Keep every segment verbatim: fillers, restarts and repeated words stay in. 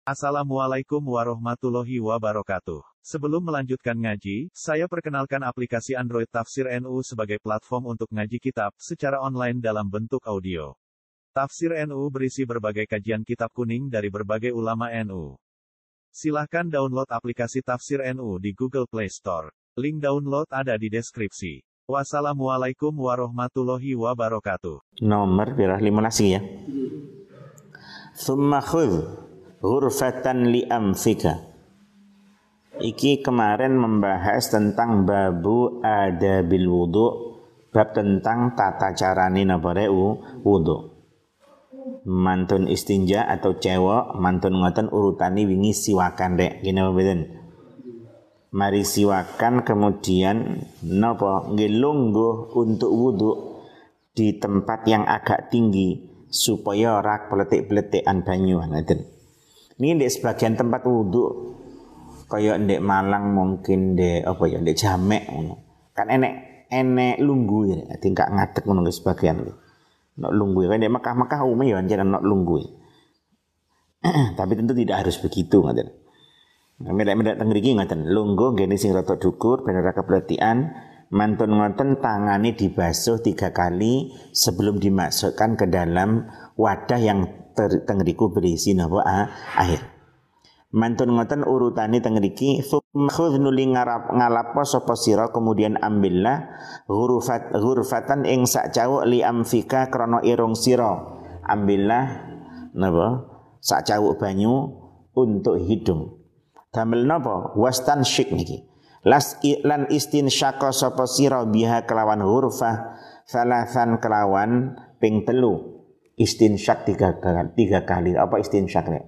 Assalamualaikum warahmatullahi wabarakatuh. Sebelum melanjutkan ngaji, saya perkenalkan aplikasi Android Tafsir N U sebagai platform untuk ngaji kitab secara online dalam bentuk audio. Tafsir N U berisi berbagai kajian kitab kuning dari berbagai ulama N U. Silahkan download aplikasi Tafsir N U di Google Play Store. Link download ada di deskripsi. Wassalamualaikum warahmatullahi wabarakatuh. Nomor berapa? lima belas ya. Tsumma khudh ghurfatan li amfika. Iki kemarin membahas tentang babu adabil wudu, bab tentang tata carane napa wudu. Mantun istinja atau cewek mantun ngoten urutani wingi siwakan rek gini mboten. Mari siwakan kemudian napa nggih lungguh untuk wudu di tempat yang agak tinggi supaya ora peletik-peletikan banyu ngoten. Ini di sebagian tempat wudhu kayak di Malang mungkin di apa ya di Jamek kan enek enek lunggu ya tingkat ngadeg ngono sebagian nok lunggu kan di Mekah-Mekah umumnya ya anjen nok lunggu. Tapi tentu tidak harus begitu ngoten. Medak-medak teng mriki ngoten lunggu ngene sing rada dukur ben ora kepletikan mantun ngoten tangane dibasuh tiga kali sebelum dimasukkan ke dalam wadah yang tengriku berisi napa air. Mantun ngoten urutane tengriki khudh nuli ngarap ngalapo sapa sira kemudian ambillah ghurfat ghurfatan ing sak cawuk li amfika krana irung sira. Ambillah napa sak cawuk banyu untuk hidung. Damel napa wastan syik niki. Las lan istinsyaqa sapa sira biha kelawan ghurfah salasan kelawan ping telu. Istinsyak tiga kali, tiga kali. Apa istinsyak nek?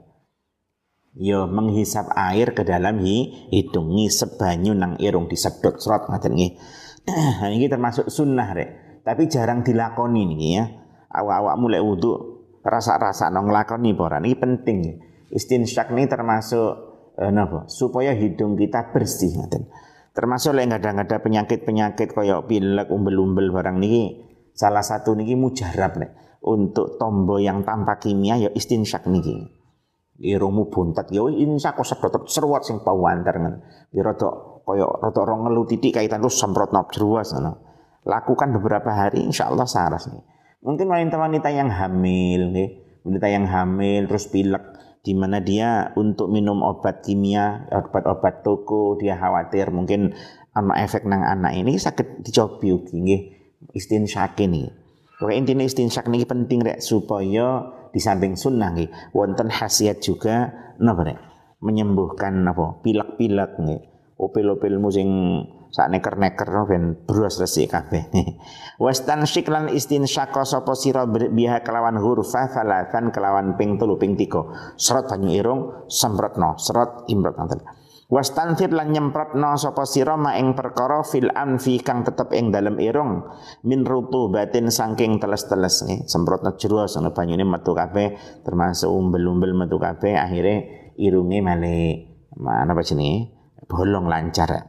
Yo menghisap air ke dalam hi, hidung ngisep banyu nang irung disedot serot ngaten nggih. Nah ini termasuk sunnah rek. Tapi jarang dilakoni niki ya. Awak-awak mulai wudu rasa-rasa nang nglakoni apa ora niki penting. Istinsyak ini termasuk eh, napa? Supaya hidung kita bersih ngaten. Termasuk lek ada-ada penyakit-penyakit kaya pilek, umbel-umbel barang niki salah satu niki mujarab nek. Untuk tombol yang tanpa kimia ya istinsyak niki. Irungmu buntet ya istinsyak kok sedot seruat sing pawanter ngen. Ya rada kaya rada ora ngelu titik kaitan terus semprotno jeruas ngono. Lakukan beberapa hari insyaallah saras nih. Mungkin wanita-wanita yang hamil nggih, wanita yang hamil terus pilek di mana dia untuk minum obat kimia, obat-obat toko dia khawatir mungkin ana efek nang anak ini sakit dicobi ugi nggih istinsyak ini. Pokoknya intinya istinsyak ini penting rek supaya di samping sunnah nggih wonten khasiat juga napa rek menyembuhkan apa pilek-pilek nggih opel-opelmu sing sak neker-neker ben bros resik kabeh. Wastan syiklan istinsyaqa sapa sira biha kelawan hurfa salasan kelawan ping telu ping tiga serot banyu irung semprotno serot improt ngoten. Wastanfir lan nyemprotno sapa sira ma ing perkara fil anfi kang tetep ing dalem irung min rutubatin saking teles-teles nggih semprotno jero sono banyune metu kabeh termasuk umbel-umbel metu kabeh akhire irunge male mana apa jenenge bolong lancar.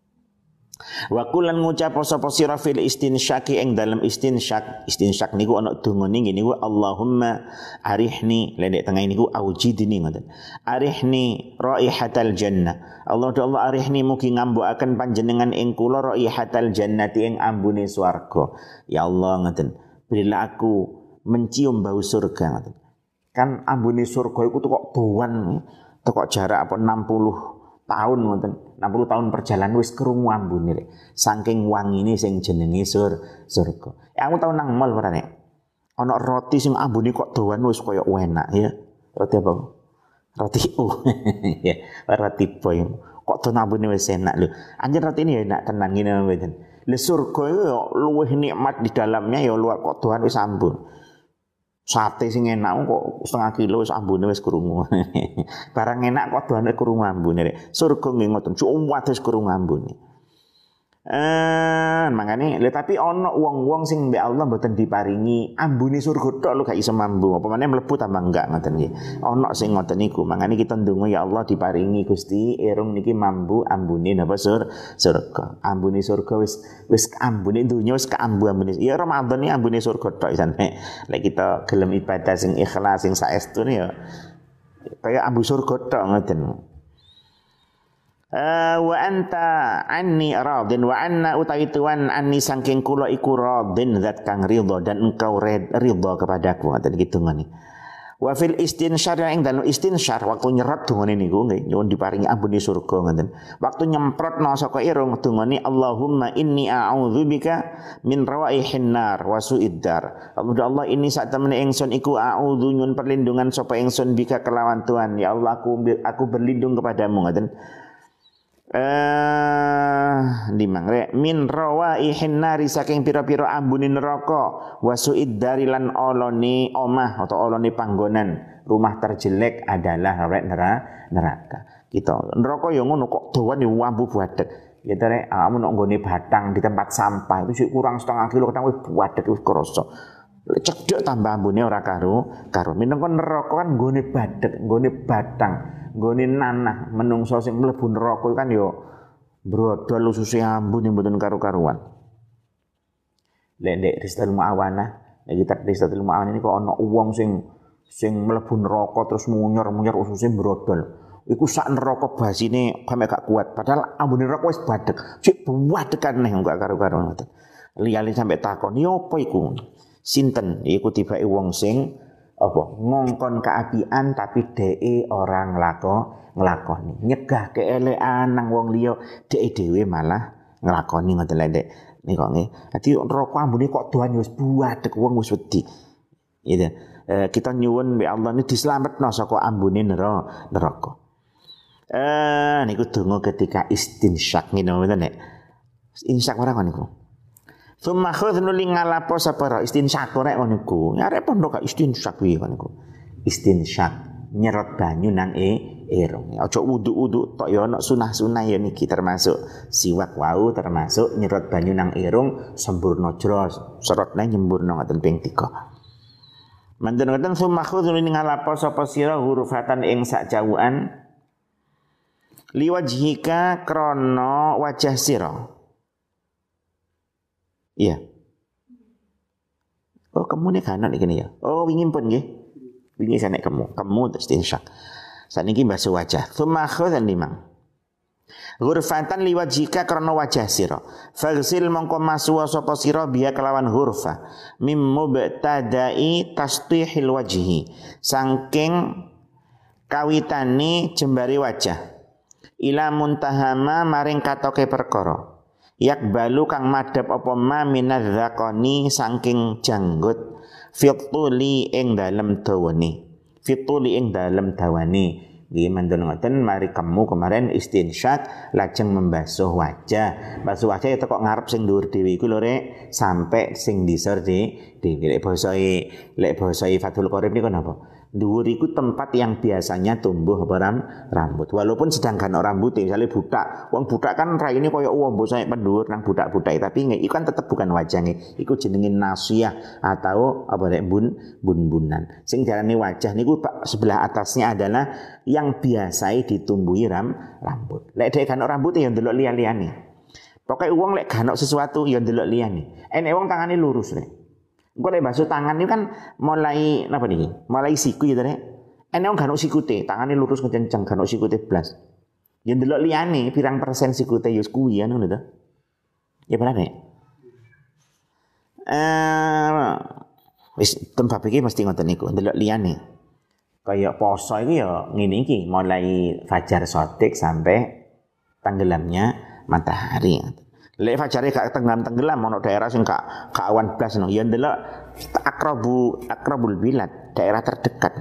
Wa kulan ngucap sapa sira fil istinsyaki ing dalem istinsyak istinsyak niku ana dungane ngene niku Allahumma arihni lendek tengah niku aujidni ngoten arihni raihatal jannah Allah do Allah arihni mugi ngambukaken panjenengan ing kula raihatal jannati ing ambune swarga ya Allah ngoten berilah aku mencium bau surga ngoten kan ambune surga iku kok doan kok jarak apa enam puluh tahun ngoten enam puluh tahun perjalanan wis krungu ambune rek saking wangine sing jenenge sur surga ya aku tau nang mall ora nek ana roti sing ambune kok doan wis kaya enak ya roti apa roti u ya roti boy kok doan ambune wis enak lho anjen roti ini ya enak tenan ngene mboten le surga iku ya luwih nikmat di dalamnya ya luar kok doan wis ambun sate sing enak kok setengah kilo wis ambune wis krungu. Barang enak kok doane krungu ambune rek. Surga nggih ngoten, cuwat wis krungu ambune. Eh, makane lha tapi ana wong-wong sing mbek Allah mboten diparingi ambune surga tok lho gak iso mambu. Apa meneh mlebu tambah enggak ngoten nggih. Ana sing ngoten niku. Makane kita ndonga ya Allah diparingi Gusti irung niki mambu ambune napa sur surga. Ambune surga wis wis ambune dunya wis kaambu ambune. Ya Ramadan iki ambune surga tok isane. Lek kita gelem ibadah sing ikhlas sing saestune ya Kaya ambu surga tok ngoten. Uh, wa anta anni radin wa anna utawi tuan anni saking kula iku radin zat kang ridha dan engkau ridha kepadaku ngoten iki dongane. Wa fil istinsyar ing dalem istinsyar waktu nyerot dongane niku nggih nyuwun diparingi ambune surga ngoten. Waktu nyemprotno saka irung dongane Allahumma inni a'udzubika min rawaihin nar wa su'iddar. Allah ini sak temene ingsun iku a'udzu nyuwun perlindungan sapa ingsun bika kelawan Tuhan. Ya Allah aku aku berlindung kepadamu ngoten. Eh limang rek min rawaihin nari saking pira-pira ambune neraka wasuid dari lan olone omah atau olone panggonan rumah terjelek adalah rek neraka. Kita neraka ya ngono kok dawane wambu buadek. Ya to rek amun nek nggone batang di tempat sampah itu sik kurang setengah kilo kadang wis buadek wis krasa. Cedhek tambah ambune ora karo karo minangka neraka kan nggone badek, nggone batang. Nggone nanah menungso sing mlebu neraka kan ya brodol ususe ambun yang mboten karu-karuan. Lek ndek Ristatul Muawanah, nek kitab Ristatul Muawanah ini kok ana wong sing sing mlebu neraka terus munyor-munyor ususe brodol. Iku sak neraka basine sampe gak kuat, padahal ambune neraka wis badhek. Sik buwadekan neh gak karu-karuan ngoten. Liyane sampe takon, "Ya apa iku?" Sinten? Iku tibake wong sing apa ngongkon keapian tapi dheke ora nglako nglakoni nyegah keelekan nang wong liya dheke dhewe malah nglakoni ngoten lek nika nggih dadi neraka ambune kok doan wis buadek wong wis wedi gitu. E, kita nyuwun mbek Allah ini dislametno saka ambune neraka eh niku donga ketika istinsyak ngene ngoten nek insyak ora niku. Summa khudh nuli ngalapo sapara istinsyak rek ngono iku. Arek pondok gak istinsyak piye ngono iku. Istinsyak nyerot banyu nang e irung. Aja wudu-wudu tok ya ana sunah-sunah ya niki termasuk siwak wau termasuk nyerot banyu nang irung sempurna jros. Serotne nyempurna ngoten ping tiga. Manten ngoten summa khudh nuli ngalapo sapa sira hurufatan ing sak jawukan liwajhika krana wajah sira. Iya. Oh, kamu nek kanan iki ya. Oh, wingi pun nggih. Wingi sanek kamu. Kamu terus insyak. Saniki basuh wajah. Tsumma khudhan limang. Ghurfatan liwajhika karena wajah sira. Faghsil mongko masuwa sapa sira biya kelawan hurfa. Mim mubtada'i tastihil wajhi. Saking kawitane jembari wajah. Ila muntahama maring katoke perkara. Yak balu kang madhep apa ma minadzaqani saking janggut fituli ing dalem dawane fituli ing dalem dawane nggih mandhen ngoten mari kamu kemarin istinsyak lajeng membasuh wajah basuh wajah itu kok ngarep sing dhuwur dhewe iku lho rek sampai sing disor di dhewe lek basa lek basa Fathul Qorib niku napa dhuwur iku tempat yang biasanya tumbuh apa ram, rambut. Walaupun sedangkan orang rambut misalnya budak, wong budak kan raine koyo wombo saya pendhuwur nang budak-budak tapi nggih iku kan tetep bukan wajahnya. Iku jenenge nasiyah atau apa rek bun bun-bunan. Sing diarani wajah niku sebelah atasnya adalah yang biasa ditumbuhi ram, rambut. Lek dhek kan rambut ya ndelok liya-liyane. Pokoke wong lek ganok sesuatu ya ndelok liyane. Enek wong tangane lurus rek. Engko lek basuh tangan itu kan mulai napa niki? Mulai siku ya rek. Enek wong ganok sikute, tangane lurus kenceng ganok sikute blas. Ya ndelok liyane pirang persen sikute ya kuwi ya ngono to. Ya bener nek. Eh wis tempat iki mesti ngoten niku, ndelok liyane. Kayak poso iki ya ngene iki, mulai fajar sotik sampai tenggelamnya matahari. Lek fajare gak tenggelam-tenggelam ono daerah sing gak gak awan blas no. Ya ndelok akrabu akrabul bilad, daerah terdekat.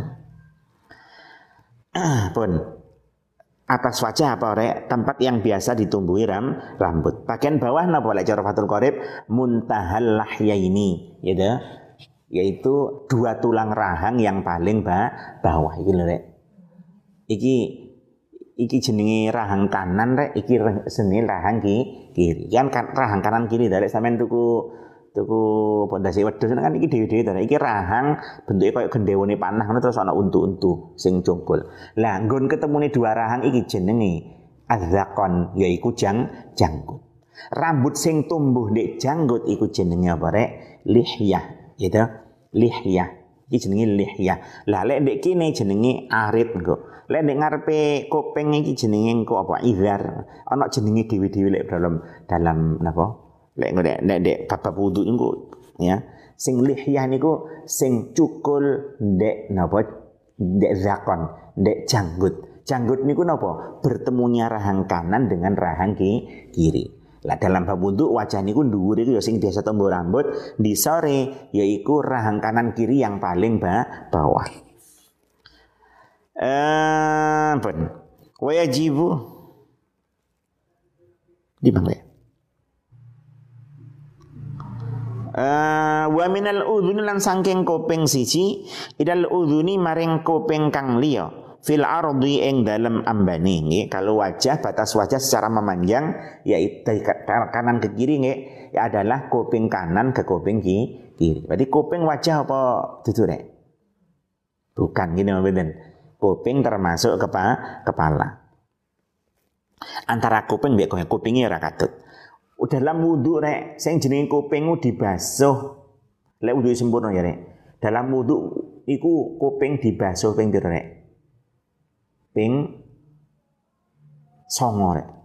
Pun atas wajah apa rek? Tempat yang biasa ditumbuhi ram, rambut. Bagian bawah napa lek cara Fathul Qorib? Muntahal lahyaini, gitu. Yaitu dua tulang rahang yang paling ba bawah iki lho rek. Iki iki jenenge rahang kanan rek, iki jenenge rahang ki kiri. Kan, kan rahang kanan kiri rek sampean tuku tuku pondasi wedhus kan iki dhewe-dhewe to. Iki rahang bentuke koyo gendhewane panah ngono terus ana untu-untu sing jongkol. Lah nggon ketemune dua rahang iki jenenge adzaqon yaiku jang janggut. Rambut sing tumbuh ndek janggut iku jenenge apa rek? Lihyah, gitu. Lihyah. Iki jenenge lihyah. Lah lek ndek kene jenenge arit engko. Lek ndek ngarepe kuping iki jenenge engko apa izar. Ana jenenge dhewe-dhewe lek dalam dalam napa? Lek ndek ndek bab wudu engko ya. Sing lihyah niku sing cukul ndek napa? Ndek zakon, ndek janggut. Janggut niku napa? Bertemunya rahang kanan dengan rahang kiri. Lah dalam bab wudu wajah niku dhuwur iku ya sing biasa tombo rambut, di sore yaiku rahang kanan kiri yang paling ba bawah. Eh, pun. Wajibu di mana? Uh, wa minal udhuni lan sangking kuping siji idal udhuni maring kuping kang liya fil ardi ing dalem ambane nggih. Kalau wajah, batas wajah secara memanjang yaitu dari kanan ke kiri nggih ya adalah kuping kanan ke kuping kiri. Berarti kuping wajah apa dudu rek? Bukan gini mboten. Kuping termasuk kepa, kepala. Antara kuping mbek kupingnya ora katut. Dalam wudu rek, sing jenenge kuping dibasuh. Lek wudu sempurna ya rek. Dalam wudu iku kuping dibasuh ping pira rek? Ping songo rek.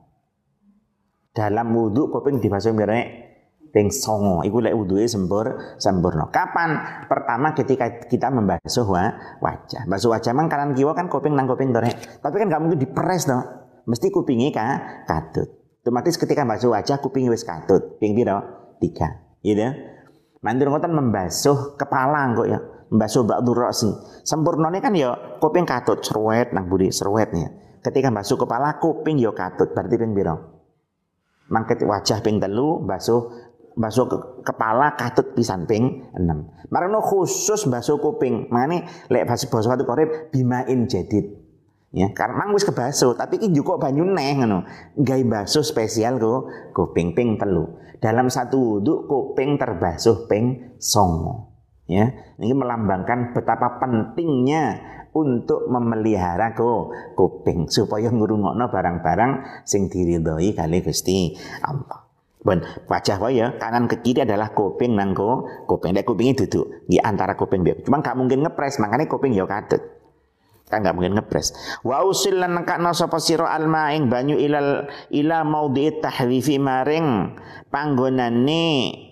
Dalam wudu kuping dibasuh ping rek? Ping songo. Iku lek wuduke sempur sempurna. Kapan? Pertama ketika kita membasuh wa, wajah. Basuh wajah mang kanan kiwa kan kuping nang kuping to rek. Tapi kan gak mungkin diperes to. Mesti kupinge ka katut. Otomatis ketika basuh wajah kuping wis katut. Ping pira? Tiga. Gitu. Mandur ngoten membasuh kepala kok ya. Membasuh ba'du ra'si. Sempurnane kan ya kuping katut serwet nang budi serwetnya. Ketika basuh kepala kuping ya katut. Berarti ping pira? Mangket wajah ping telu, basuh basuh ke, kepala katut pisan ping enam. Marono khusus basuh kuping. Mangane lek basuh basuh watu korep bimain jadid. Ya, karena wis kebasuh, tapi iki juga banyu neh ngono. Gawe basuh spesial go kuping ping telu. Dalam satu wudu kuping terbasuh ping songo. Ya, ini melambangkan betapa pentingnya untuk memelihara go kuping supaya ngrungokno barang-barang sing diridhoi kali Gusti Allah. Ben wajah wae ya, kanan ke kiri adalah kuping nang go kuping. Nek kupinge duduk di antara kuping biar. Cuma gak mungkin ngepres, makanya kuping ya katut. Kan gak mungkin ngepres. Wa usil lan nekakno sapa sira alma ing banyu ilal ila maudhi tahwifi maring panggonane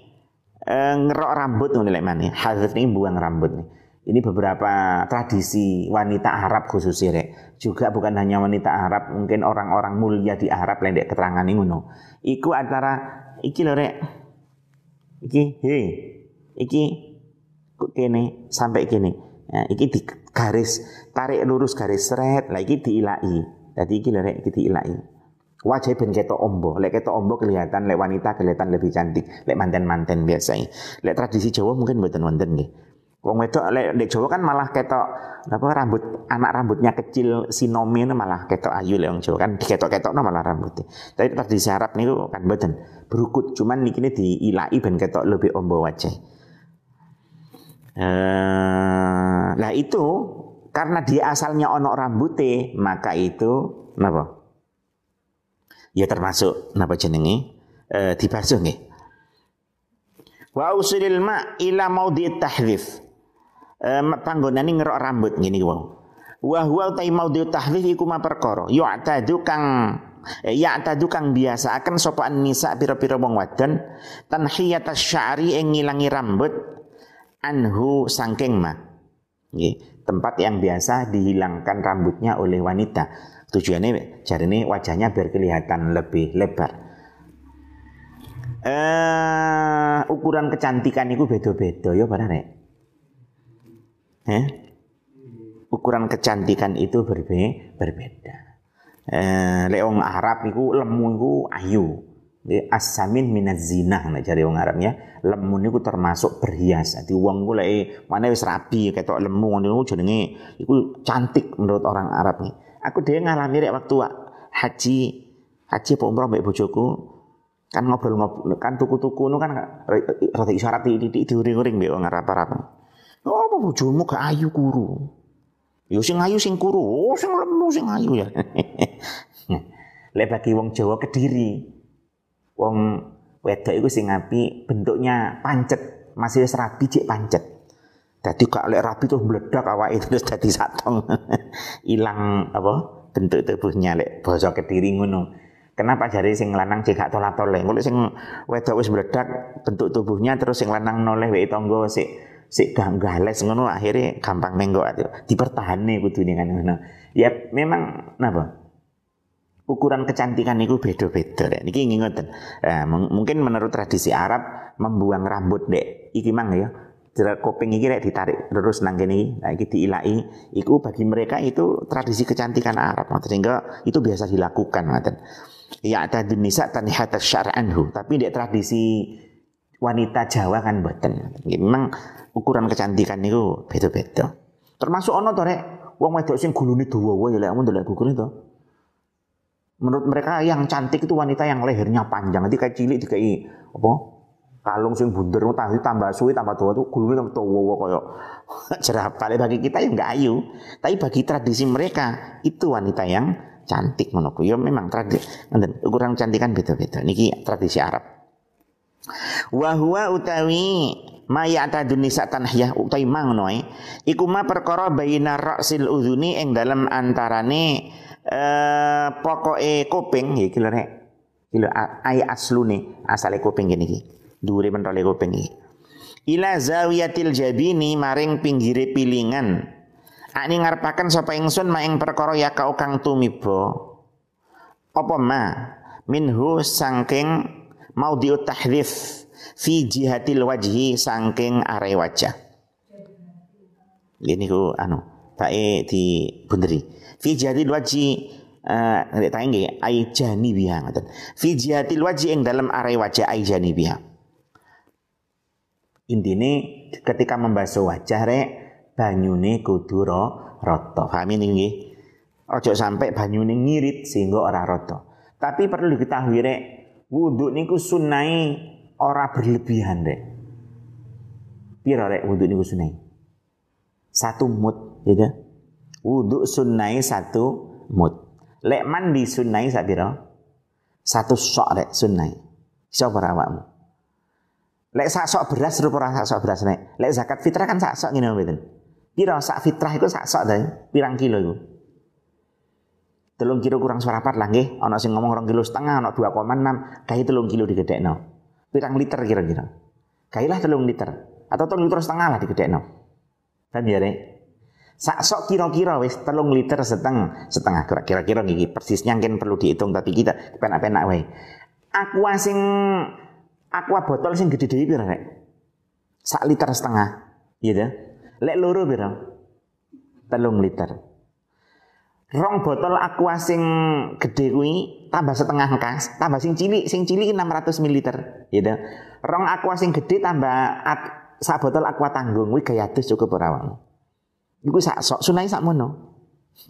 e, ngerok rambut ngono lek maneh. Hadz ini buang rambut nih. Ini beberapa tradisi wanita Arab khususnya rek. Juga bukan hanya wanita Arab, mungkin orang-orang mulia di Arab lendek keterangan ngono. Iku antara iki lho rek. Iki he. Iki kene sampai kene. Ya, iki di garis tarik lurus garis seret, lagi diilai. Jadi iki lek iki diilai. Wajah ben ketok ombo, lek ketok ombo kelihatan, lek wanita kelihatan lebih cantik, lek manten-manten biasa. Lek tradisi Jawa mungkin mboten wonten nggih. Wong wedok lek di Jawa kan malah ketok apa rambut anak rambutnya kecil sinomi malah ketok ayu lek wong Jawa kan diketok-ketokno malah rambutnya. Tapi tradisi Arab niku kan mboten. Berukut cuman niki diilai ben ketok lebih ombo wajah. Uh, lah itu karena dia asalnya ono rambute maka itu napa ya termasuk napa jenenge uh, dibasuh nggih. Wa usilil ma ila maudhi tahdhif uh, panggonane ngerok rambut ngene wae. Wa huwa ta maudhi tahdhif iku ma perkara yu'tadu kang ya tadu kang biasa akan sapa nisa pira-pira wong wadon tanhiyatas sya'ri ing ngilangi rambut anhu sangking ma nggih, tempat yang biasa dihilangkan rambutnya oleh wanita. Tujuannya jarine wajahnya biar kelihatan lebih lebar. Eh ukuran kecantikan itu beda-beda ya para rek. Eh? Ukuran kecantikan itu berbe berbeda. Eh lek wong Arab iku lemu iku ayu. As-samin minaz zinah nek jare wong Arabnya, lemu niku termasuk berhias. Dadi wong ku lek maneh wis rabi ketok lemu ngono jenenge iku cantik menurut orang Arab nih. Aku dhewe ngalami rek waktu haji haji apa umroh mbek bojoku kan ngobrol-ngobrol kan tuku-tuku nu kan rada isyarat titik diuring-uring mbek wong Arab-Arab. Oh apa bojomu gak ayu kuru. Yo sing ayu sing kuru, oh sing lemu sing ayu ya. Lek bagi wong Jawa Kediri wong wedok iku sing apik bentuknya pancet, masih wis rabi cek pancet. Dadi gak lek rapi terus meledak awake terus dadi satong. Ilang apa bentuk tubuhnya lek basa Kediri ngono. Kenapa jari sing lanang cek gak tolat-toleh. Engko sing wedok wis meledak bentuk tubuhnya terus sing lanang noleh wae tangga sik sik gales ngono akhirnya gampang menggok dipertahane kudune kan ngono. Ya memang napa? Ukuran kecantikan itu beda-beda. Niki ngoten. Nah, mungkin menurut tradisi Arab membuang rambut dek iki mang ya. Jerat kuping iki rek ditarik terus nang kene iki, nah iki diilai. Iku bagi mereka itu tradisi kecantikan Arab, sehingga itu biasa dilakukan ngoten. Ya ada nisa tanihata syar'anhu, tapi dek tradisi wanita Jawa kan mboten. Memang ukuran kecantikan itu beda-beda. Termasuk ono to rek wong wedok sing gulune dawa ya lek mun ndelok gugune to. Menurut mereka yang cantik itu wanita yang lehernya panjang. Nanti kayak cilik dikai apa? Kalung sing bunder tapi tambah suwi tambah tua tuh gulune tambah tua koyo jerapah. Bagi kita yang enggak ayu, tapi bagi tradisi mereka itu wanita yang cantik menurutku. Ya memang tradisi ukuran kecantikan beda-beda. Niki tradisi Arab. Wa huwa utawi ma ya'tadun nisa tanhiyah utawi mangnoe iku ma perkara baina ra'sil udhuni ing dalam antarane eh pokoke kuping iki lho rek. Iki lho ay aslune asale kuping ngene iki. Dhuwure pentole kuping iki. Ila zawiyatil jabini maring pinggire pilingan. Ani ngarepaken sapa ingsun ma ing perkara ya kau kang tumiba. Apa ma minhu sangking maudhi'ut tahdhif fi jihatil wajhi sangking are wajah. Ini ku anu bae di bunderi. Fi jihatil wajhi nek tak nggih ai janibiha ngoten. Fi jihatil wajhi ing dalem are wajah ai janibiha. Intine ketika membasuh wajah rek banyune kudu rata. Paham nggih? Ojo sampai banyune ngirit sehingga ora rata. Tapi perlu diketahui rek wudu niku sunai ora berlebihan rek. Pira rek wudu niku sunai? Satu mud, gitu. Wudu sunai satu mud. Lek mandi sunai sak pira? Satu sok rek sunai. Iso ora awakmu? Lek sak sok beras rupa ora sak sok beras rek. Lek zakat fitrah kan sak sok ngene mboten. Pira sak fitrah iku sak sok ta? Pirang kilo iku? Telung kilo kurang seprapat lah nggih. Ana sing ngomong rong kilo setengah, ana dua koma enam, gawe telung kilo digedhekno. Pirang liter kira-kira? Gawelah telung liter atau telung liter setengah lah digedhekno. Kan ya rek. Sak sok kira-kira wis telung liter setengah, setengah kira-kira nggih persisnya mungkin perlu dihitung tapi kita penak-penak wae. Aqua sing aqua botol sing gede dhewe pira rek? Sak liter setengah, gitu. Lek loro pira? Telung liter. Rong botol aqua sing gede kuwi tambah setengah kas, tambah sing cilik, sing cilik enam ratus mililiter, gitu. Rong aqua sing gede tambah at, sak botol aqua tanggung kuwi gaya adus cukup ora wae. Iku sak sok sunai sak mono.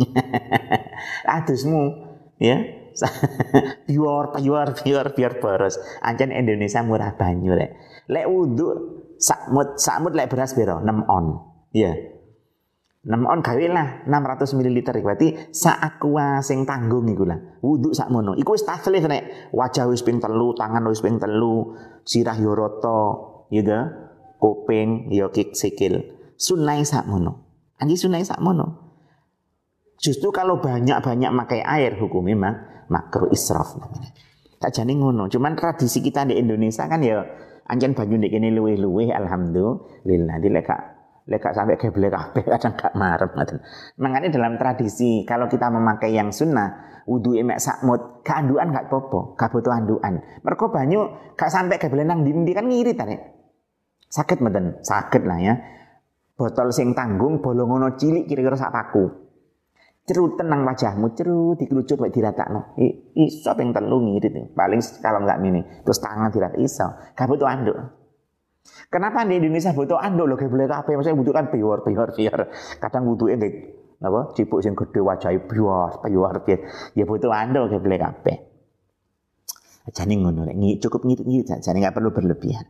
Adusmu ya. Biar biar biar biar boros. Ancen Indonesia murah banyu rek. Lek wudu sak mut sak mut lek beras piro? enam on. Iya. enam on gawe lah enam ratus mililiter berarti sak aqua sing tanggung iku lah. Wudu sak mono. Iku wis taslih nek wajah wis ping telu, tangan wis ping telu, sirah yo rata, gitu. Kuping yo kik sikil. Sunai sak mono. Anji sunai sak mono. Justru kalau banyak-banyak makai air hukumnya memang makruh israf namanya. Tak jane ngono. Cuman tradisi kita di Indonesia kan ya anjen banyu ndek kene luwih-luwih alhamdulillah. Di lek lek sampai geblek kabeh kadang gak marem ngoten. Mangane dalam tradisi kalau kita memakai yang sunnah wudu emek sakmut, gak andukan gak apa-apa, gak butuh andukan. Mergo banyu gak sampai geblek nang ndi kan ngirit ta nek. Sakit mboten? Sakit lah ya. Botol sing tanggung bolongono cilik kira-kira sak paku. Cerut tenang wajahmu, cerut dikerucut wae diratakno. Iso ping telu ngirit. Paling kalau enggak mini, terus tangan dirat iso. Gak butuh anduk. Kenapa di Indonesia butuh anduk lho geblek kabeh? Maksudnya butuhkan bior bior bior. Kadang butuhe ndek apa? Cipuk sing gede wajahe bior bior bior. Ya butuh anduk geblek kabeh. Jane ngono rek, cukup ngirit-ngirit jane enggak perlu berlebihan.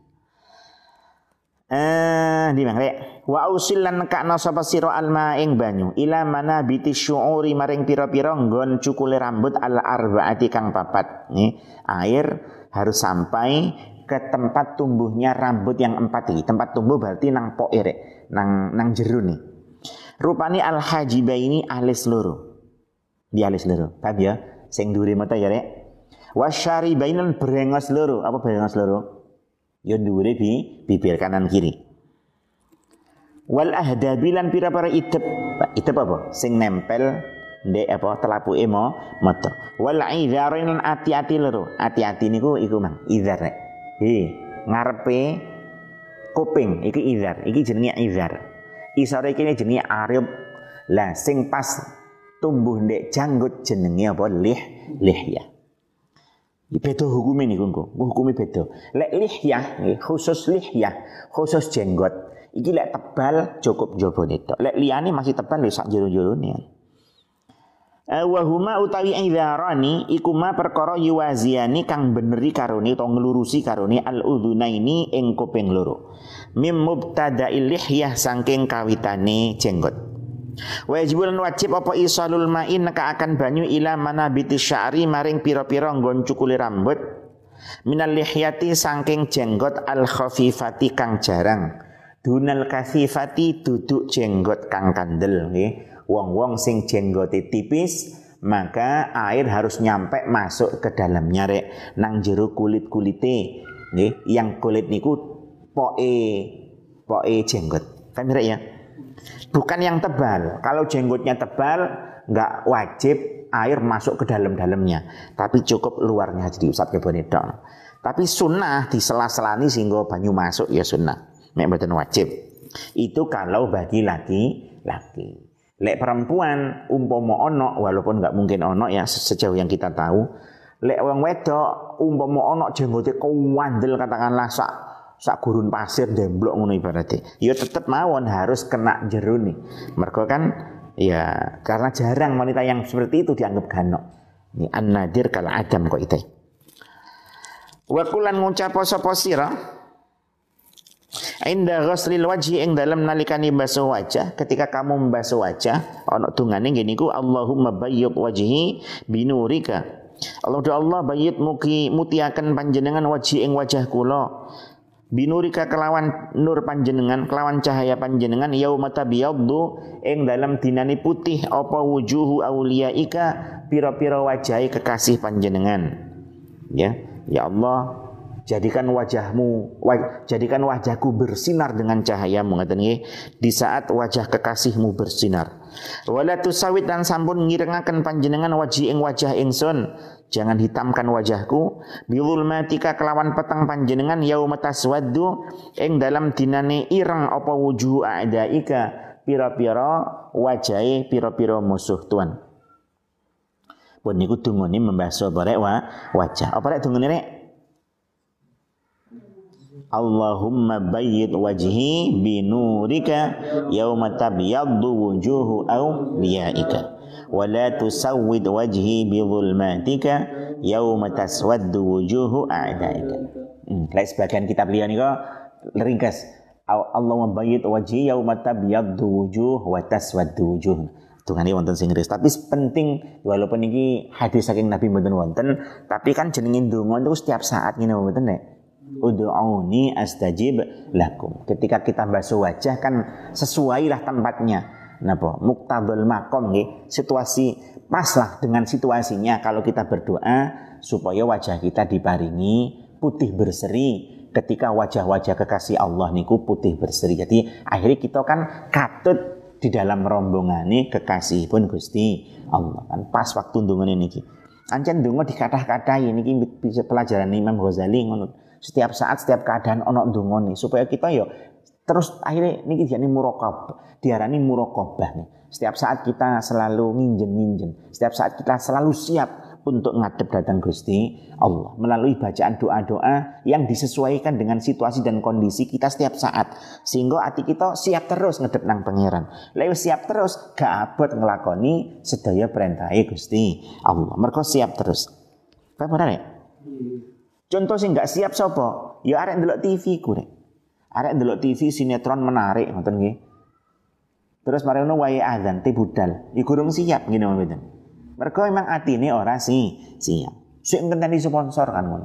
Eh di mangre wa usilan nekakno sapa sira alma ing banyu ila mana biti syuuri maring pira-pira nggon cukule rambut al arbaati kang papat nih air harus sampai ke tempat tumbuhnya rambut yang empat iki. Tempat tumbuh berarti nang poke rek, nang nang jero nih. Rupane al hajiba ini alis loro. Di alis loro. Paham ya? Sing dhuwure mata ya rek. Wasyaribainan brengos loro. Apa brengos loro? Ya dhuwure bi bibir kanan kiri. Wal ahdabilan pira-pira idep. Idep apa? Sing nempel ndek apa telapuke mo mata. Wal idzarin ati-ati loro. Ati-ati niku iku mang idzar rek. He, ngarepe kuping iki idzar, iki jenenge idzar. Isore iki jenenge arib. Lah sing pas tumbuh ndek janggut jenenge apa? Lih, lihya. Beda hukume niku engko. Hukume beda. Lek lihya, khusus lihya, khusus jenggot. Iki lek tebal cukup jabone tok. Lek liyane masih tebal lho sak jero-jerone. Wa huma utawi idzarani iku ma perkara yuwaziani kang beneri karone utawa nglurusi karone al udhunaini ing kuping loro. Mim mubtada'il lihyah saking kawitane jenggot. Wajibun wajib apa isalul ma'in neka akan banyu ila manabiti sya'ri maring pira-pira nggon cukule rambut minal lihyati saking jenggot al khafifati kang jarang dunal kasifati duduk jenggot kang kandel nggih. Wong-wong sing jenggote tipis maka air harus nyampe masuk ke dalamnya rek nang jero kulit-kulite nggih. Yang kulit niku poke poke jenggot. Kan rek ya? Bukan yang tebal. Kalau jenggotnya tebal enggak wajib air masuk ke dalam-dalamnya, tapi cukup luarnya jadi usap kebone tok. Tapi sunnah di sela-selani sehingga banyu masuk ya sunnah. Nek mboten wajib. Itu kalau bagi laki-laki. Lek perempuan umpama ono walaupun enggak mungkin ono ya sejauh yang kita tahu. Lek wong wedok umpama ono jenggote kuwandel katakanlah sak sak gurun pasir demblok ngono ibarate. Ya tetep mawon harus kena jero nih. Mergo kan ya karena jarang wanita yang seperti itu dianggap ganok. Ini an-nadir kal adam kok itu. Wa kulan ngucap sapa sira inda ghuslil wajhi ing dalam nalikani basuh wajah. Ketika kamu membasuh wajah ana dungane ngene iku Allahumma bayyid wajhi binurika. Allah do Allah bayyid mugi mutiaken panjenengan wajhi ing wajah kula binurika kelawan nur panjenengan kelawan cahaya panjenengan yauma tabyaddu ing dalam dinane putih apa wujuhu auliyaika pira-pira wajahe kekasih panjenengan. Ya, ya Allah jadikan wajahmu, waj, jadikan wajahku bersinar dengan cahayamu, ngaten nggih, di saat wajah kekasihmu bersinar. Wala tusawit dan sampun ngirengaken panjenengan wajhi ing wajah ingsun, jangan hitamkan wajahku. Bizulmatika kelawan petang panjenengan yauma taswaddu ing dalam dinane ireng apa wujuh a'daika pira-pira wajahe pira-pira musuh Tuhan. Pun niku dungane membasuh barek wa wajah. Apa rek dungane rek? Allahumma bayyid wajhi binurika yauma tabyaddu wujuhu awliyaika wa la tusawwid wajhi bizulmatika yauma taswaddu wujuhu a'daika. Hmm, lek sebagian kitab liya nika ringkas Allahumma bayyid wajhi yauma tabyaddu wujuh wa taswaddu wujuh. Tungane wonten sing ris, tapi penting walaupun iki hadis saking Nabi mboten wonten, tapi kan jenenge ndonga itu setiap saat ngene mboten nek. Ud'uni astajib lakum. Ketika kita basuh wajah kan sesuailah tempatnya. Napa? Muqtabul maqam nggih. Situasi paslah dengan situasinya kalau kita berdoa supaya wajah kita diparingi putih berseri. Ketika wajah-wajah kekasih Allah niku putih berseri. Jadi akhirnya kita kan katut di dalam rombongane kekasih pun Gusti Allah. Kan pas waktu ndongane niki. Ancen ndonga dikathah-katahi niki bisa pelajaran Imam Ghazali ngono. Setiap saat, setiap keadaan ono ndongane supaya kita yo terus akhirnya niki diarani muraqabah, diarani muraqabah nih. Setiap saat kita selalu nginjen-nginjen, setiap saat kita selalu siap untuk ngadep datang Gusti Allah melalui bacaan doa-doa yang disesuaikan dengan situasi dan kondisi kita setiap saat sehingga hati kita siap terus ngadep nang pangeran. Lha siap terus gak abot nglakoni sedaya perintahe Gusti Allah. Mergo siap terus. Paham ora nek? Contoh sing gak siap sapa? Ya arek ndelok T V ku rek. Arek ndelok T V sinetron menarik ngoten nggih. Terus mari ngono wae azan te budal. Iku durung siap ngene mboten. Mergo memang atine ora sih siap. Sik ngenteni sponsor kan ngono.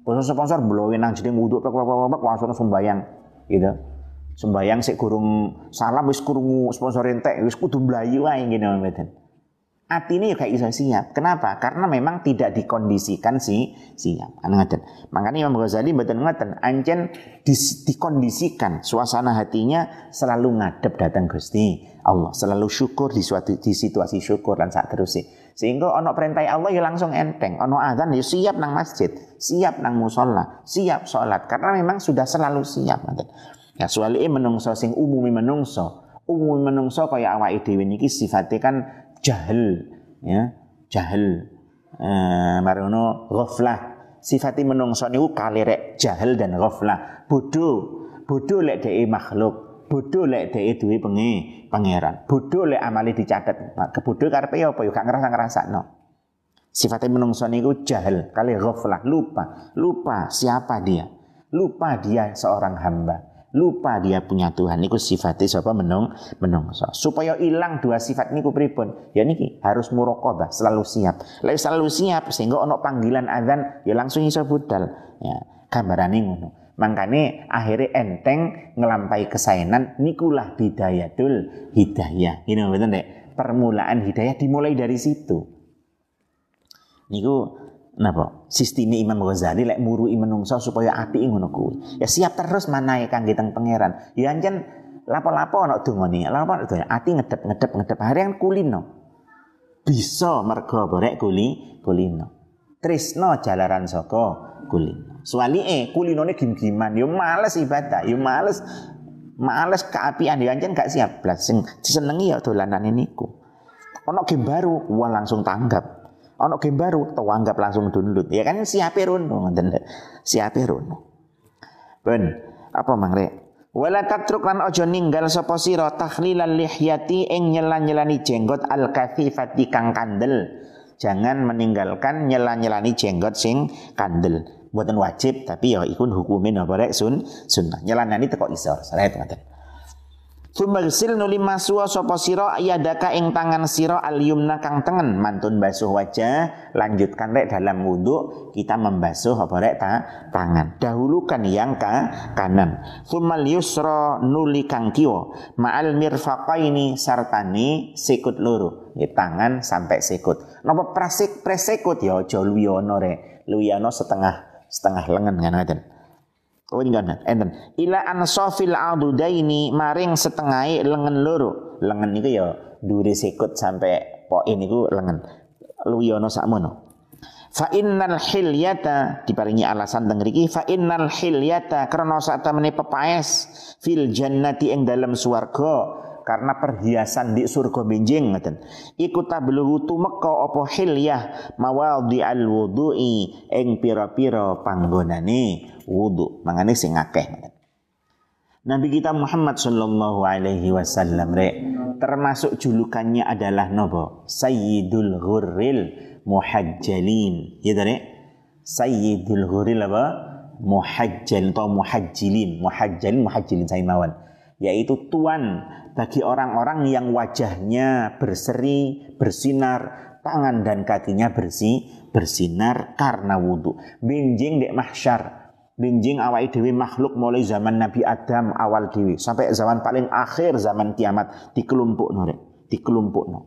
Sponsor-sponsor blowe nang jeneng wudu plek-plek langsung sembayang gitu. Sembayang sik gurung salam wis krungu sponsor entek wis kudu mlayu wae ngene mboten. Atine ya gak iso siap. Kenapa? Karena memang tidak dikondisikan si siap. Ngoten. Makanya Imam Ghazali mboten ngoten, ancen dis, dikondisikan suasana hatinya selalu ngadep datang Gusti Allah, selalu syukur di suatu di situasi syukur lan sak terusé. Sehingga ana perintah Allah ya langsung enteng, ana azan ya siap nang masjid, siap nang musala, siap salat karena memang sudah selalu siap ngoten. Ya suwalike menungso sing umumi menungso, umumi menungso kaya awake dhewe niki sifate kan jahil, ya jahil, eh, marono ghaflah. Sifati menungso niku kalirek jahil dan ghaflah. Bodoh, bodoh lek dhek makhluk, bodoh lek dhek duwe pengi pangeran, bodoh lek amale dicatet. Nah, kebodoh karepe apa ya gak ngerasa-ngrasakno. Sifati menungso niku jahil, kali ghaflah, lupa, lupa siapa dia, lupa dia seorang hamba. Lupa dia punya Tuhan. Niku sifatnya sapa menung menungso. Supaya hilang dua sifat niku pripun? Ya niki harus muraqabah, selalu siap. Lek selalu siap sehingga ono panggilan azan ya langsung iso budal. Ya, gambarane ngono. Mangkane akhirnya enteng ngelampai kesaenan nikulah bidayatul hidayah. Ini betul Dek. Permulaan hidayah dimulai dari situ. Niku napa? Sisteme Imam Ghazali lek murui menungso supaya apik ngono kuwi. Ya siap terus manahe kangge teng pangeran. Ya ancen lapo-lapo ana dongane. Lapo ana ati ngedep-ngedep ngedep harian kulino. Bisa mergo borek kuli kulino. Tresno jalaran saka kulino. Suwalike kulinone gim-giman ya males ibadah, ya males males keapian ya ancen gak siap blas sing disenengi ya dolanane niku. Ana game baru, wah langsung tanggap. Ono game baru, tau anggap langsung download. Ya kan siape rono ngoten lho. Siape rono. Ben, apa mangre? Wala tatruk lan aja ninggal sapa sira takhlilal lihyati ing nyela-nyelani jenggot al-kathifati kang kandel. Jangan meninggalkan nyela-nyelani jenggot sing kandel. Mboten wajib tapi ya iku hukume napa rek sun sunnah. Nyelanani teko isor. Saret ngoten. Sumagsil nuli masuwa sapa sira yadaka ing tangan sira al-yumna kang tengen mantun basuh wajah, lanjutkan rek dalam wudu kita membasuh apa rek ta, tangan. Dahulukan yang ka kanan. Sumal yusra nuli kang kiwa ma'al mirfaqaini sartani sikut loro. Ya, tangan sampai sikut. Napa prasik presikut ya aja luwiyono rek. Luwiyono setengah setengah lengan kan ngoten. Oh ini kan, enten. Ila ansofil adudaini maring setengahai lengan loro. Lengan itu ya duri sikut sampai poin itu lengan. Luyono sakmono. Fa innal hilyata diparingi alasan teng mriki fa innal hilyata krana sak temene pepaes fil jannati ing dalam swarga karena perhiasan di surga benjing ngoten. Iku tabluhu tumeka apa hilyah mawadhi al wudu'i ing pira-pira panggonane wudu. Mangane sing akeh. Nabi kita Muhammad sallallahu alaihi wasallam rek termasuk julukannya adalah nopo? Sayyidul Ghurril Muhajjalin. Ya rek? Sayyidul Ghurril apa? Muhajjal atau muhajjilin. Muhajjalin muhajjilin saya mawon. Yaitu tuan bagi orang-orang yang wajahnya berseri, bersinar, tangan dan kakinya bersih, bersinar karena wudu. Benjing dek mahsyar. Benjing awake dhewe makhluk mulai zaman Nabi Adam awal dhewe sampai zaman paling akhir zaman kiamat dikelompokno rek, dikelompokno.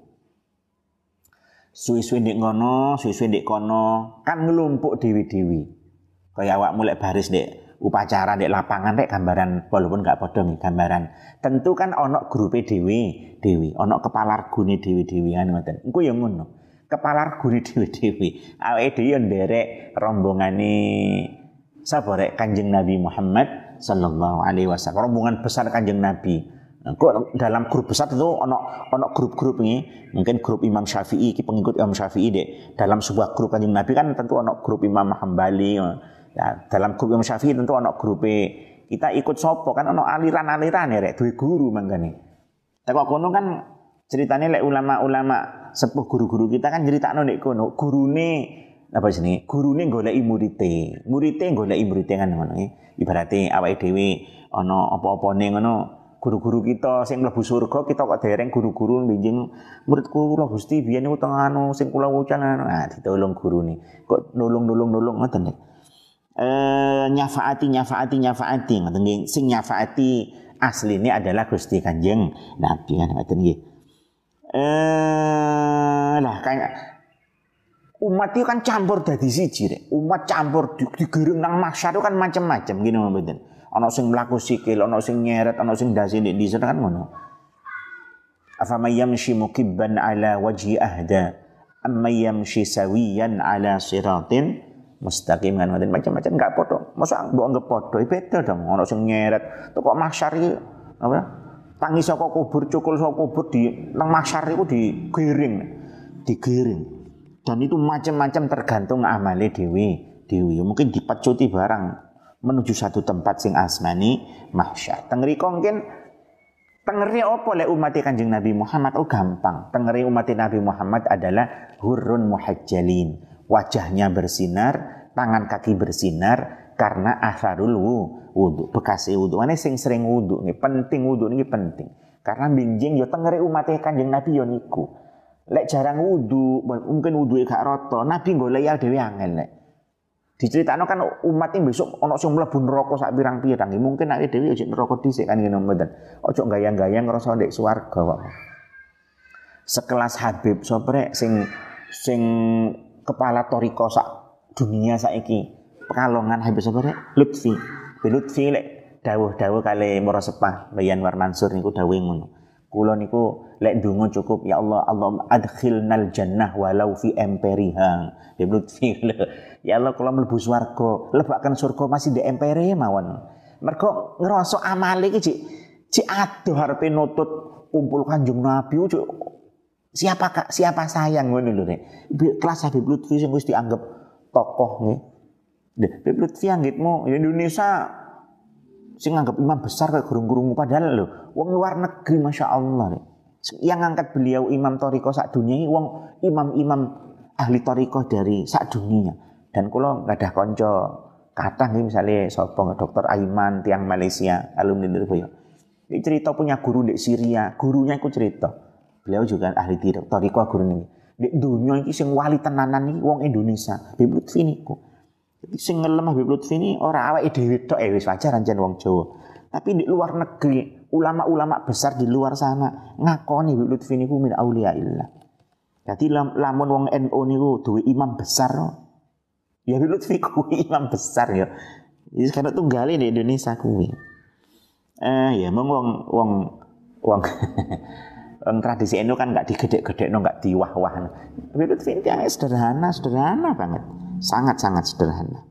Suwi-suwi ndek ngono, suwi-suwi ndek kono, kan ngelompok dhewe-dhewe. Kaya awakmu lek baris ndek upacara ndek lapangan rek gambaran walaupun gak padha nih gambaran. Tentu kan ana grupe dhewe-dhewe, ana kepala regune dhewe-dhewean ngoten. Engko ya ngono. Kepala regune dhewe-dhewe. Awake dhewe nderek rombongane sapa rek Kanjeng Nabi Muhammad sallallahu alaihi wasallam. Rombongan besar Kanjeng Nabi. Nah, kok dalam grup besar itu ono ono grup-grup ini. Mungkin grup Imam Syafi'i, ki pengikut Imam Syafi'i dek. Dalam sebuah grup Kanjeng Nabi kan tentu ono grup Imam Hambali. Ya, dalam grup Imam Syafi'i tentu ono grup kita ikut sopo kan ono aliran-aliran ya rek duwe guru mangkane. Teko kono kan ceritane lek ulama-ulama sepuh guru-guru kita kan critakno nek kono gurune apa jenenge? Gurune goleki murite. Murite goleki murite kan ngono nggih. Ibarate awake dhewe ana apa-apane ngono, guru-guru kita sing mlebu surga kita kok dereng guru-guru benjing muridku kula Gusti biyen niku teng anu sing kula wucan anu. Ah ditolong gurune. Kok nulung-nulung-nulung ngoten nek. eh, nyafaati nyafaati nyafaati ngoten nggih. Sing nyafaati asline adalah Gusti Kanjeng Nabi kan ngoten nggih. Eh lah kayak umat itu kan campur dadi siji rek. Umat campur digerung nang mahsyar itu kan macam-macam gini mboten. Ana sing mlaku sikil, ana sing nyeret, ana sing dasi ndek dhisik kan ngono. Afamay yamshi mukibban ala wajhi ahda amma yamshi sawiyan ala siratin mustaqim kan ngoten macam-macam enggak padha. Mosok mbok anggap padha beda dong. Ana sing nyeret teko mahsyar iki apa? Tangi saka kubur, cukul saka kubur di nang mahsyar iku digiring. Digiring. Dan itu macam-macam tergantung amale dewi dewi. Mungkin dipecuti barang menuju satu tempat sing asmani mahsyar. Tengriko mungkin tengeri apa lek umat Kanjeng Nabi Muhammad oh gampang. Tengeri umat Nabi Muhammad adalah hurrun muhajjalin. Wajahnya bersinar, tangan kaki bersinar karena asarul wudu, bekas wudu. Ane sing sering wudu nih, penting wudu nih penting. Karena binjing yo tengeri umat Kanjeng Nabi yo niku. Lek jarang wudu, mungkin wudu gak rata, Nabi golek ya dhewe angel lek. Diceritakno kan umat ini besok ana sing mlebu neraka sak pirang-pirang. Mungkin nek dhewe ojo neraka dhisik kan ngene mboten. Ojo gayang-gayang ngrasa ndek swarga kok. Sekelas Habib Soprek sing sing kepala toriko sak dunia saiki. Pekalongan Habib Soprek Lutfi. Lutfi lek dawuh-dawuh kali Mora Sepah Mbah Yanwar Mansur niku dawuhe ngono. Kula niku lek ndonga cukup ya Allah Allahumma adkhilnal jannah walau fi emperiha. Ya Lutfi ya Allah kula mlebu swarga, lebakan surga masih di empere mawon. Mergo ngrasa amale iki cik cik adoh arepe nutut kumpul Kanjeng Nabi cik siapa kak siapa sayang ngono lho Rek. Kelas Habib Lutfi sing wis dianggap tokoh nggih. Habib Lutfi anggitmu Indonesia sing nganggap imam besar kayak gurung-gurung padahal lho wong luar negeri Masya Allah nih. Yang ngangkat beliau imam toriko sak dunia ini wong imam-imam ahli toriko dari sak dunia. Dan kula gadah konco kathah nggih misale sapa Dokter Aiman tiang Malaysia alumni Lirboyo. Ini cerita punya guru di Syria, gurunya iku cerita. Beliau juga ahli toriko guru niki. Di dunia iki sing wali tenanan iki wong Indonesia. Habib Lutfi niku. Jadi sing ngelem Habib Lutfi ini ora awake dhewe tok eh wis wajar ancen wong Jawa. Tapi di luar negeri, ulama-ulama besar di luar sana ngakoni Habib Lutfi niku min auliyaillah. Jadi lam, lamun wong N U niku duwe imam besar. Ya Habib Lutfi kuwi imam besar ya. Iki kan tunggale di Indonesia kuwi. Eh ya mong wong wong wong wong tradisi N U kan enggak digedek-gedekno, enggak diwah-wah. Habib Lutfi ini yang sederhana, sederhana banget. Sangat-sangat sederhana.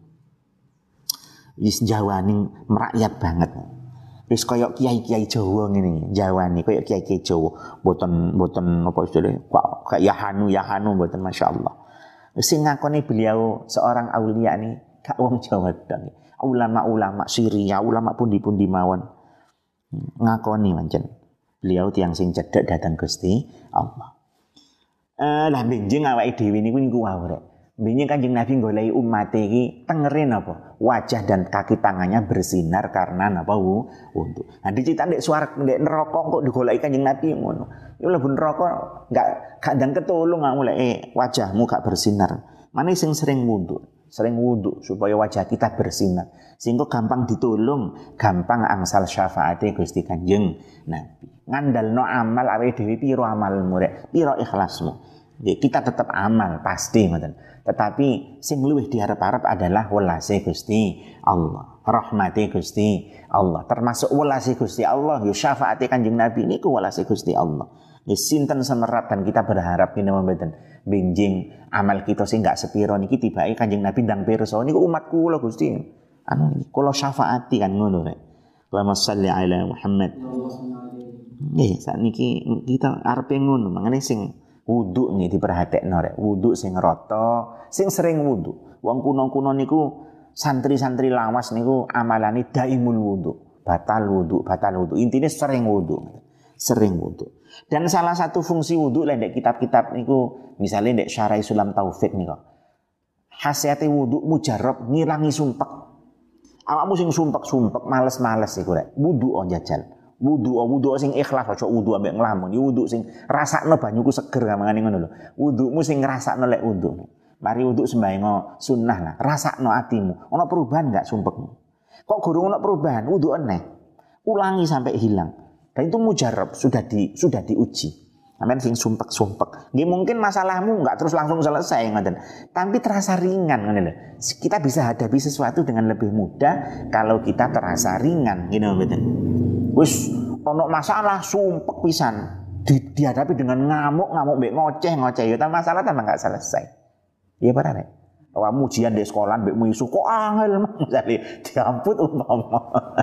Wis jawani merakyat banget. Wis koyok kiai-kiai Jawa ngene, jawani koyok kiai-kiai Jawa, mboten mboten apa istilahnya, kok kayak yahanu yahanu mboten masyaallah. Sing ngakoni beliau seorang aulia nih, gak wong Jawa dong. Ulama-ulama Syria, ulama pundi-pundi mawon. Ngakoni mancen. Beliau tiang sing cedhek datang Gusti Allah. Eh lah benjing awake dhewe niku niku wae rek. Benjing Kanjeng Nabi goleki umat iki tengere napa? Wajah dan kaki tangannya bersinar karena napa wudu. Nah dicita ndek swarga ndek neraka kok digoleki Kanjeng Nabi ngono. Ya mlebu neraka enggak gak ndang ketulung kamu lek eh, wajahmu gak bersinar. Mane sing sering wudu, sering wudu supaya wajah kita bersinar. Sehingga gampang ditulung, gampang angsal syafaate Gusti Kanjeng Nabi. Ngandalno amal awake dhewe piro amalmu rek, piro ikhlasmu. Ya, kita tetap amal pasti ngoten. Tetapi sing luwih diharap-harap adalah welase Gusti Allah, rahmati Gusti Allah. Termasuk welase Gusti Allah, yo syafaate Kanjeng Nabi niku welase Gusti Allah. Ya sinten semerat dan kita berharap ini mboten benjing amal kita sing gak sepiro niki tibake Kanjeng Nabi ndang pirsa niku umat kula Gusti. Anu kula syafaati kan ngono rek. Allahumma shalli ala Muhammad. Nggih, sakniki kita arepe ngono, mangane sing wudu nih diperhatekno rek, wudu sing rata, sing sering wudu. Wong kuno-kuno niku santri-santri lawas niku amalane daimul wudu, batal wudu, batal wudu. Intine sering wudu. Sering wudu. Dan salah satu fungsi wudu lek ndek kitab-kitab niku, misalnya ndek Syarah Sulam Taufik niku. Khasiate wudu mujarrab ngilangi sumpek. Awakmu sing sumpek-sumpek, males-males iku rek. Wudu on jajal. Wudu, wudu sing ikhlas, aja wudu ambek nglamun. Wudu sing rasakno banyuku seger kamangane ngono lho. Wudumu sing ngrasakno lek wudu. Mari wudu sembahyang sunnah lah, rasakno atimu. Ono perubahan enggak sumpekmu? Kok gurung ono perubahan, wudu eneh. Ulangi sampai hilang. Dan itu mujarab, sudah di sudah diuji. Sampeyan sing sumpek-sumpek. Nggih mungkin masalahmu enggak terus langsung selesai ngoten. Tapi terasa ringan ngono lho. Kita bisa hadapi sesuatu dengan lebih mudah kalau kita terasa ringan, gitu mboten. Wis ono masalah sumpek pisan. Di, dihadapi dengan ngamuk-ngamuk mbek ngoceh-ngoceh ya masalah tambah enggak selesai. Iya benar ya. Kamu ujian di sekolah mbek isu kok angel misale diamput umpama.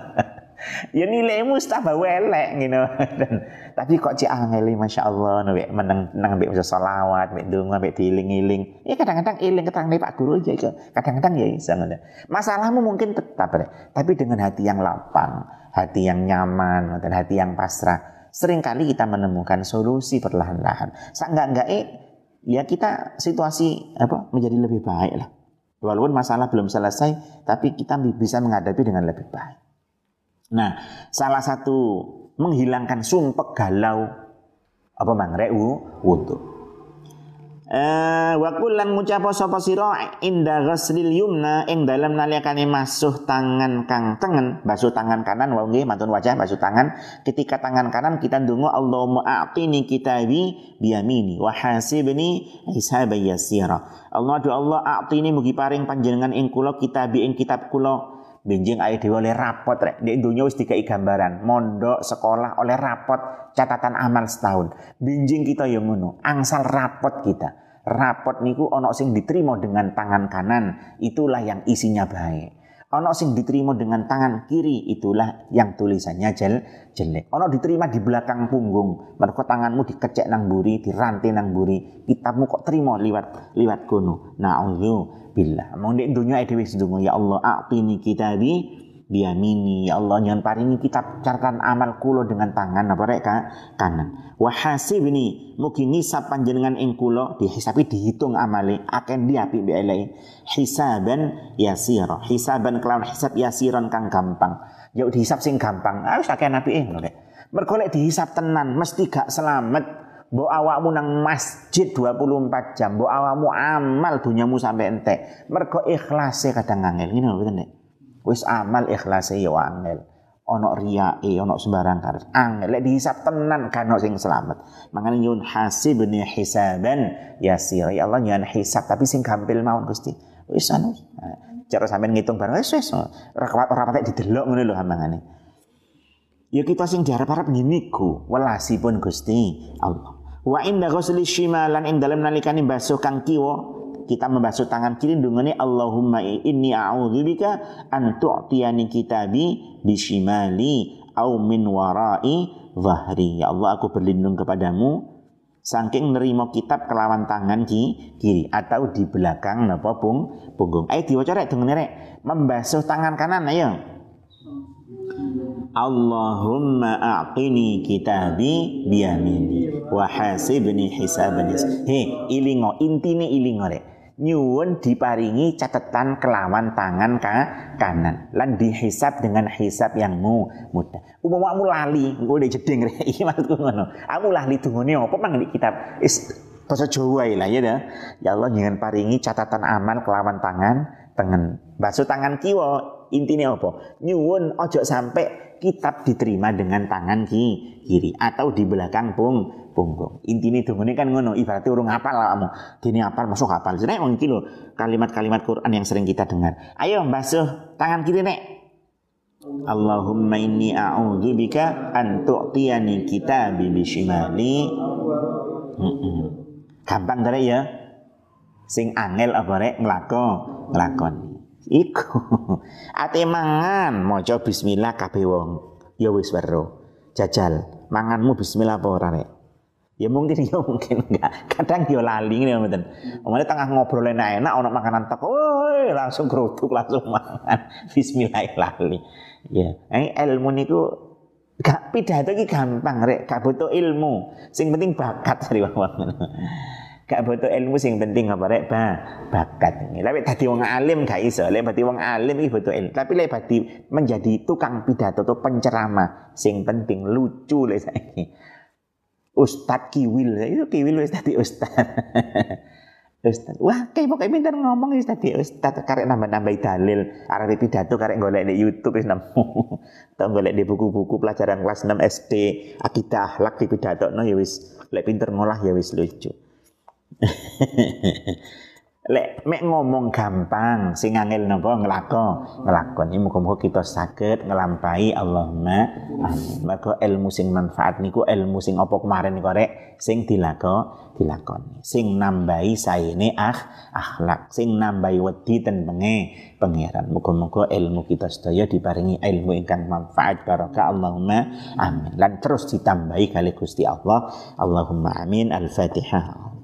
Ya nilaimu tambah welek gitu. Tapi kok cek angel masyaallah mbek meneng nang mbek maca selawat, mbek ndonga, mbek dieling-eling. Ya kadang-kadang eling keterangne Pak Guru aja itu. Kadang-kadang ya iso ngono. Masalahmu mungkin tetap ya, tapi dengan hati yang lapang, hati yang nyaman, dan hati yang pasrah. Seringkali kita menemukan solusi perlahan-lahan. Seenggak-enggak eh ya kita situasi apa menjadi lebih baik lah. Walaupun masalah belum selesai, tapi kita bisa menghadapi dengan lebih baik. Nah, salah satu menghilangkan sumpek galau apa mangrek wudu. Eh wa kullan ngucapa sapa sira inda ghaslil yumna ing dalem nalikane masuh tangan kang tengen, basuh tangan kanan wa nggih mantun wajah basuh tangan. Ketika tangan kanan kita ndonga Allahumma a'tini kitabi biyamini wa hasibni hisaban yasira. Allah do Allah a'tini mugi paring panjenengan ing kula kitabi ing kitab kula. Benjing ae dhewe oleh rapot rek. Nek donya wis dikai gambaran, mondok, sekolah oleh rapot catatan amal setahun. Benjing kita ya ngono, angsal rapot kita. Rapot niku ana sing diterima dengan tangan kanan, itulah yang isinya baik. Ana sing diterima dengan tangan kiri, itulah yang tulisannya jel jelek. Ana diterima di belakang punggung, mergo tanganmu dikecek nang mburi, dirantai nang mburi, kitabmu kok terima liwat liwat kono. Na'udzu billah. Mong nek dunya dhewe sedonga ya Allah a'tini kitabi biyamini ya Allah nyon paringi kitab catatan amal kula dengan tangan apa rek kanan. Wa hasibni mugi ngisab panjenengan ing kula dihisabi dihitung amale akan diapik mbek elek. Hisaban yasira. Hisaban kelawan hisab yasiran kang gampang. Ya dihisab sing gampang. Ah wis akeh apike ngono rek. Mergo lek dihisab tenan mesti gak selamat. Mbok awakmu nang masjid dua puluh empat jam, mbok awakmu amal dunyamu sampai entek. Mergo ikhlase kadang angel, ngene lho nek. Wis amal ikhlase ya angel. Ana riyae, ana sembarang karo. Angel lek dihisab tenan kan ono sing selamat. Mangane nyun hasibni hisaban yasir. Ya Allah nyun hisab tapi sing gampil mawon Gusti. Wis anu. Cara sampean ngitung bareng wis wis. Ora ora patek didelok ngene lho mangane. Ya kita sing diharap-harap ngene ku, welasipun Gusti Allah. Wa inda ghusli shimalan ing dalem nalikane basuh kang kiwa kita membasuh tangan kiri ndungane Allahumma inni a'udzubika an tu'tiyani kitabi bishimali au min warai zahri. Ya Allah aku berlindung kepadamu saking nerima kitab kelawan tangan ki, kiri atau di belakang napa pung punggung. Ayo diwaca rek dengene rek membasuh tangan kanan ayo. Allahumma a'tini kitabi biyamini wa hasibni hisaban yasir. He, ilingo intine ilingo rek. Nyuwun diparingi catatan kelawan tangan ka kanan lan dihisab dengan hisab yang mu, mudah. Umpamamu lali, engko ndek jeding rek. Iki maksudku ngono. Aku lali dungane apa mang di kitab is basa Jawa lah ya dah. Ya Allah jangan paringi catatan amal kelawan tangan tengen. Basuh tangan kiwa intine apa? Nyuwun ojo sampai kitab diterima dengan tangan ki, kiri atau di belakang pung punggung. Intine dongane kan ngono, ibaratnya urung hafal awakmu. Dene hafal masuk hafal. Nek wong iki lho kalimat-kalimat Quran yang sering kita dengar. Ayo basuh tangan kiri nek. Allahumma inni a'udzubika an tu'tiyani kitabi bishimali. Heeh. Gampang ta ya? Sing angel apa rek nglako, nglakon. Iku ate mangan maca bismillah kabeh wong ya wis weruh jajal manganmu bismillah apa ora rek ya mungkin ya mungkin enggak kadang yo lali ngene mboten omane tengah ngobrol enak-enak ana makanan teko woi langsung geruduk langsung mangan bismillah lali ya eh ilmu niku gak pidato iki gampang rek gak butuh ilmu sing penting bakat sari wong gak butuh ilmu sing penting apa rek ba bakat. Tapi dadi wong alim gak iso. Lek dadi wong alim iki butuh ilmu. Tapi lek dadi menjadi tukang pidato atau penceramah sing penting lucu lek saiki. Ustad kiwil, itu kiwil wis dadi ustad. Ustaz, wah kayak pokoknya pinter ngomong ya Ustaz, Ustaz karek nambah-nambah dalil, arep pidato karek golek di YouTube wis nemu. Tau golek di buku-buku pelajaran kelas enam S D, akidah akhlak di pidatokno ya wis, lek pinter ngolah ya wis lucu. Lek mek ngomong gampang, sing angel napa nglakon, nglakon. Iki muga-muga kita saged nglampahi Allahumma amin. Maka ilmu sing manfaat niku ilmu sing apa kemarin niku rek sing dilako dilakoni. Sing nambahi saene ah akhlak, sing nambahi wedi tentenge pangeran. Muga-muga ilmu kita sedaya diparingi ilmu ingkang manfaat barokah Allahumma amin. Lan terus ditambahi kali Gusti Allah. Allahumma amin. Al-Fatihah.